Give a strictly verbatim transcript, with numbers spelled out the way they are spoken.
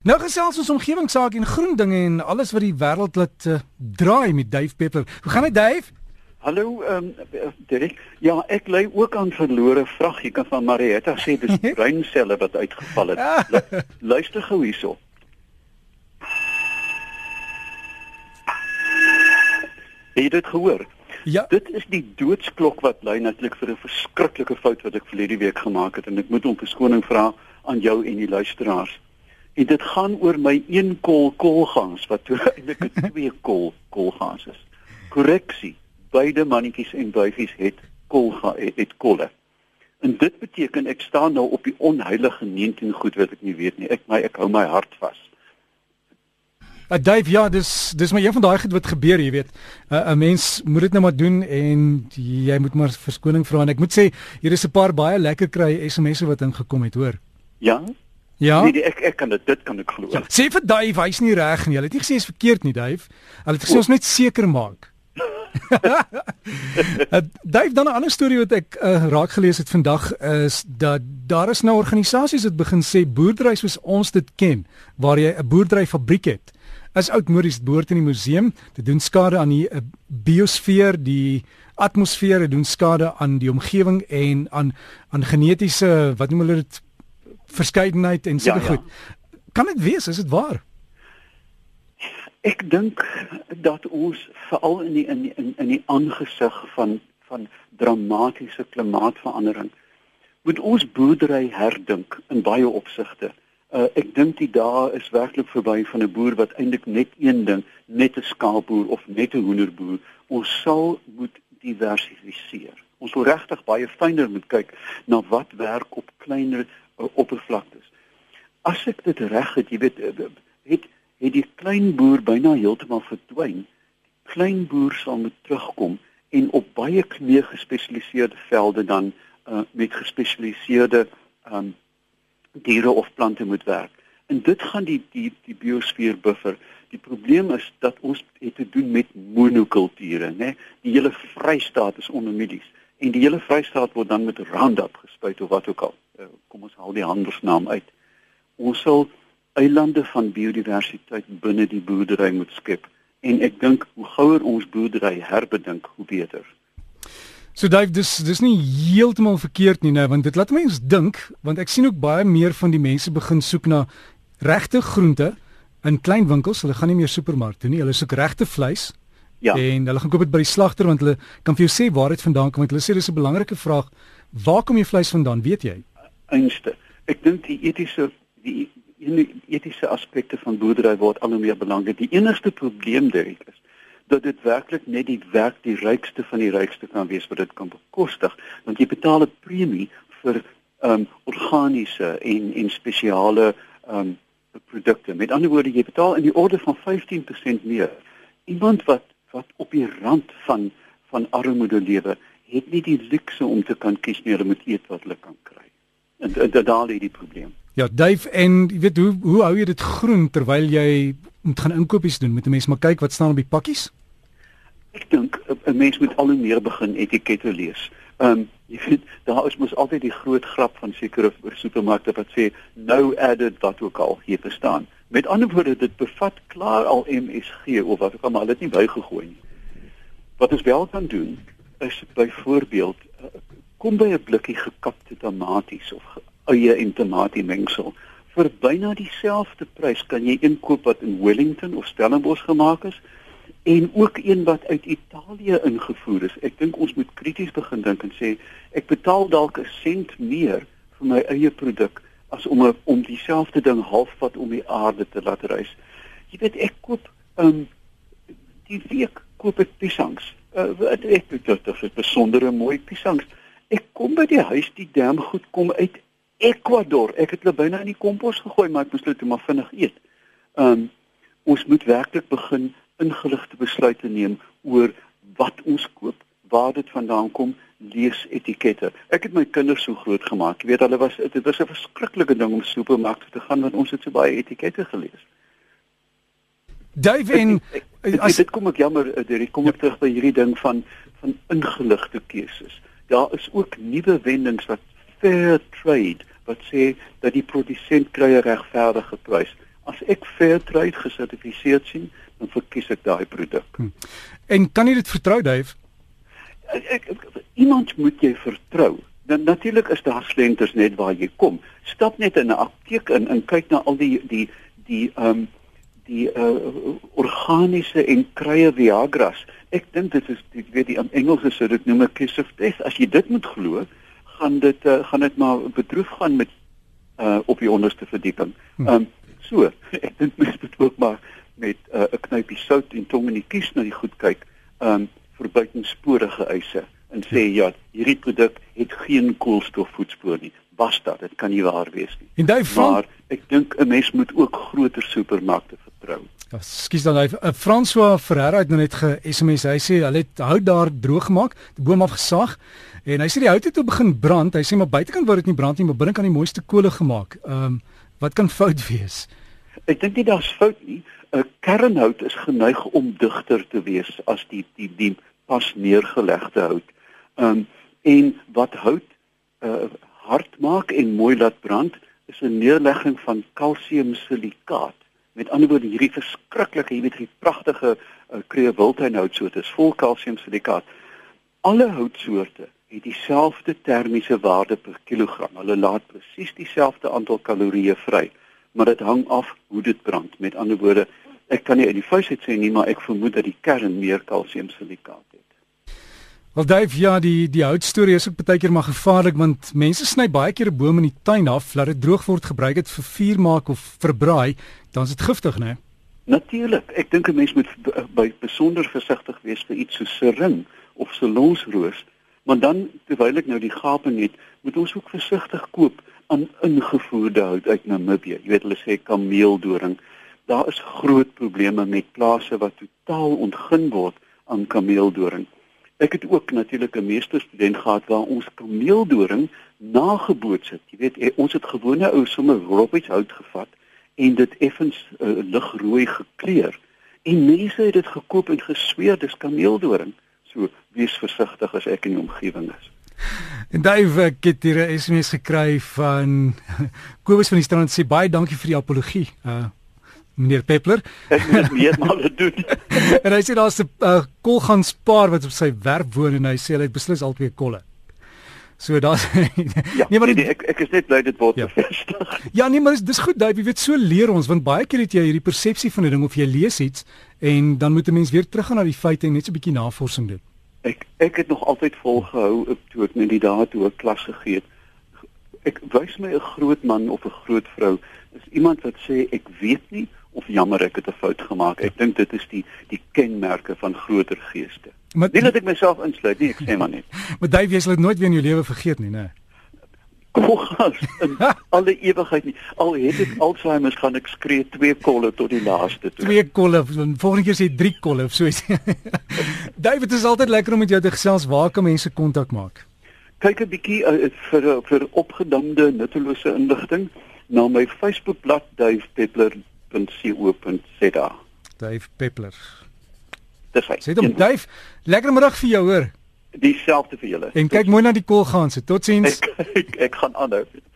Nou gesels ons omgewingsake en groen dinge en alles wat die wêreld laat uh, draai met Dave Peppler. Hoe gaan dit, Dave? Hallo, ehm um, Derek. Ja, ek ly ook aan verlore vrag. Jy kan van Marietta sê dis breinselle wat uitgeval het. Lu luister gou hierso. Het jy dit gehoor? Ja. Dit is die doodsklok wat lui natuurlik vir 'n verskriklike fout wat ek verlede week gemaak het en ek moet om verskoning vra aan jou en die luisteraars. En dit gaan oor my een kol kolgaans wat toe eintlik 'n twee kol kolgaans is. Korreksie. Beide mannetjies en buifies het kolga het, het kolle. En dit beteken ek staan nou op die onheilige negentien goed wat ek nie weet nie. Ek my ek hou my hart vas. Uh, Dave, ja, dis dis maar een van daai goed wat gebeur, jy weet. 'n uh, 'n mens moet dit nou maar doen en jy moet maar verskoning vra en ek moet sê hier is 'n paar baie lekker kry S M S'e wat ingekom het, hoor. Ja? Ja. Nee, ek ek kan dit dit kan ek glo. Ja, sê vir Dave, hy's nie reg nie. Hulle het nie gesê is verkeerd nie, Dave. Hulle het gesê ons net seker maak. uh, Dave, dan 'n ander storie wat ek uh, raak gelees het vandag is dat daar is nou organisasies wat begin sê boerdery soos ons dit ken, waar jy 'n boerderyfabriek het, is oudmodies, dit behoort in die museum, dit doen skade aan die uh, biosfeer, die atmosfeer, dit doen skade aan die omgewing en aan aan genetiese, wat noem hulle dit, verskeidenheid en sulke ja, ja. goed. Kan dit wees, is dit waar? Ek dink dat ons veral in die in in, in die aangesig van van dramatiese klimaatsverandering moet ons boerdery herdink in baie opsigte. Uh, ek dink die dae is werklik verby van 'n boer wat eintlik net een ding, net 'n skaapboer of net 'n hoenderboer. Ons sal moet diversifiseer. Ons wil regtig baie fyner moet kyk na wat werk op kleiner uh, oppervlaktes. As ek dit reg het, jy weet, het het die klein boer byna heeltemal verdwyn. Die klein boer sal moet terugkom en op baie meer gespesialiseerde velde dan uh, met gespesialiseerde um, diere of plante moet werk. En dit gaan die die die biosfeer buffer. Die probleem is dat ons het te doen met monokulture, né? Die hele Vrystaat is ondermedies en die hele Vrystaat word dan met Roundup gespuit of wat ook al. Uh, kom ons haal die handelsnaam uit. Ons sal eilande van biodiversiteit binne die boerdery moet skep en ek dink hoe gouer ons boerdery herbedink, hoe beter. So Dave, dis dis nie heeltemal verkeerd nie nou, want dit laat mense dink, want ek sien ook baie meer van die mense begin soek na regte groente in klein winkels. Hulle gaan nie meer supermark toe nie, hulle soek regte vleis. Ja. En hulle gaan koop dit by die slagter want hulle kan vir jou sê waar dit vandaan kom, want hulle sê dis 'n belangrike vraag. Waar kom jou vleis vandaan, weet jy? Einste. Ek dink die etiese die die etiese aspekte van boerdery word al hoe meer belangrik. Die enigste probleem Derek is dat dit werklik net die werk die rykste van die rykste kan wees wat dit kan bekostig, want jy betaal 'n premie vir um, organiese en en spesiale um, produkte. Met ander woorde, jy betaal in die orde van vyftien persent meer. Iemand wat wat op die rand van van armoede lewe, het nie die luukse om te kan kies nie, hulle moet eet wat hulle kan kry. En, en, en daar lê die probleem. Ja, Dave, en jy weet hoe hoe hou jy dit groen terwyl jy moet gaan inkopies doen? Moet 'n mens maar kyk wat staan op die pakkies? Ek dink 'n mens moet al hoe meer begin etikette lees. Ehm um, jy weet daar is mos altyd die groot grap van sekere supermarkte wat sê no added wat ook al hier bestaan. Met ander woorde, dit bevat klaar al M S G of wat ook al, maar hulle het nie bygegooi nie. Wat ons wel kan doen is byvoorbeeld uh, kom by 'n blikkie gekapte tomaties of eie en tamatie mengsel. Vir byna dieselfde prys kan jy inkoop wat in Wellington of Stellenbosch gemaak is en ook een wat uit Italië ingevoer is. Ek dink ons moet krities begin dink en sê ek betaal dalk 'n sent meer vir my eie produk as om 'n om dieselfde ding halfpad om die aarde te laat reis. Jy weet ek koop um, die week koop ek piesangs. Uh, ek dink dit is besondere mooi piesangs. Ek kom by die huis, die damgoed kom uit Ecuador. Ek het hulle byna in die kompos gegooi, maar ek moes dit maar vinnig eet. Um, ons moet werklik begin ingeligte besluite neem oor wat ons koop, waar dit vandaan kom, lees etikette. Ek het my kinders so groot gemaak. Jy weet, hulle was dit was 'n verskriklike ding om supermarkte te gaan want ons het so baie etikette gelees. Dave, en ek, ek, as, dit kom ek jammer, dit kom ek ja. terug by hierdie ding van van ingeligte keuses. Daar is ook nuwe wendings wat fair trade wat sê dat die produsent kry 'n regverdige prys. As ek Fairtrade gesertifiseerd sien, dan verkies ek daai produk. Hmm. En kan jy dit vertrou, Dave? Ek, ek, ek, iemand moet jy vertrou. Dan natuurlik is daar slenters net waar jy kom. Stap net in 'n apteek in en kyk na al die die die ehm um, die uh, organiese en krye Viagras. Ek dink dit is ek weet die Engelse sou dit noem 'n kiss of death. As jy dit moet glo, gaan dit uh, gaan dit maar bedroef gaan met uh, op die onderste verdieping. Ehm um, so, ek dink mens moet ook maar met 'n uh, knypie sout en tong in die kies na die goed kyk. Ehm um, vir buitensporige eise en sê ja, hierdie produk het geen koolstofvoetspoor nie. Basta, dit kan nie waar wees nie. En Dave, maar ek dink 'n mens moet ook groter supermarkte vertrou. Ja, skus dan Dave. Uh, François Ferreira het nou net ge-S M S. Hy sê hulle het hout daar droog gemaak, die boom afgesaag en hy sê die hout het toe begin brand. Hy sê maar buitekant word dit nie brand nie, maar binnekant die mooiste kole gemaak. Ehm um, wat kan fout wees? Ek dink nie daar's fout nie. 'n uh, Kernhout is geneig om digter te wees as die die die pas neergelegde hout. Ehm um, en wat hout uh, hard maak en mooi laat brand is 'n neerlegging van kalsiumsilikaat. Met ander woorde hierdie verskriklike, jy weet hierdie pragtige uh, kreë wildtuinhoutsoorte is vol kalsiumsilikaat. Alle houtsoorte het dieselfde termiese waarde per kilogram. Hulle laat presies dieselfde aantal kalorieë vry, maar dit hang af hoe dit brand. Met ander woorde, ek kan nie in die vuisheid sê nie, maar ek vermoed dat die kern meer kalsiumsilikaat het. Wel Dave, ja, die die houtstorie is ook baie keer maar gevaarlik want mense sny baie keer 'n boom in die tuin af, laat dit droog word, gebruik dit vir vuur maak of verbraai, dan is dit giftig, né? Natuurlik. Ek dink 'n mens moet by besonder versigtig wees vir iets so sering of salonsroos, maar dan terwyl ek nou die gape het, moet ons ook versigtig koop aan ingevoerde hout uit Namibië. Jy weet hulle sê kameeldoring. Daar is groot probleme met plase wat totaal ontgin word aan kameeldoring. Ek het ook natuurlik 'n meesterstudent gehad waar ons kameeldoring nageboots het. Jy weet, ons het gewone ou sommer robbieshout gevat en dit effens uh, ligrooi gekleur. En mense het dit gekoop en gesweer dis kameeldoring. So wees versigtig as ek in die omgewing is. En Dave, ek het hier 'n S M S gekry van Kobus van die Strand sê baie dankie vir die apologie. Uh Meneer Peppler. Ek moet dit meer maar doen. En hy sê daar's 'n uh, kolganspaar wat op sy werf woon en hy sê hy het beslis al twee kolle. So daar's ja, nee, maar nee, nee, ek ek is net bly dit word ja. bevestig. Ja, nee, maar dis dis goed, Dave, jy weet so leer ons want baie keer het jy hierdie persepsie van 'n ding of jy lees iets en dan moet 'n mens weer teruggaan na die feite en net so 'n bietjie navorsing doen. Ek ek het nog altyd volgehou toe ek net die dae toe ek klas gegee het. Ek wys my 'n groot man of 'n groot vrou is iemand wat sê ek weet nie of jammer ek het 'n fout gemaak. Ek dink dit is die die kenmerke van groter geeste. Maar, nie dat ek myself insluit nie, ek sê maar net. Maar Dave, jy sal dit nooit weer in jou lewe vergeet nie, né? Kolgas in alle ewigheid nie. Al het ek Alzheimer gaan ek skree twee kolle tot die laaste toe. Twee kolle, volgende keer sê drie kolle of so iets. Dave, dit is altyd lekker om met jou te gesels. Waar kan mense kontak maak? Kyk 'n bietjie uh, vir vir opgedamde nuttelose inligting na my Facebookblad dave peppler punt co punt za. Dave Peppler. Dis hy. Sê hom Dave, lekker middag vir jou hoor. Dieselfde vir julle. En kyk mooi na die koolganse. Totsiens. Ek, ek, ek gaan aanhou.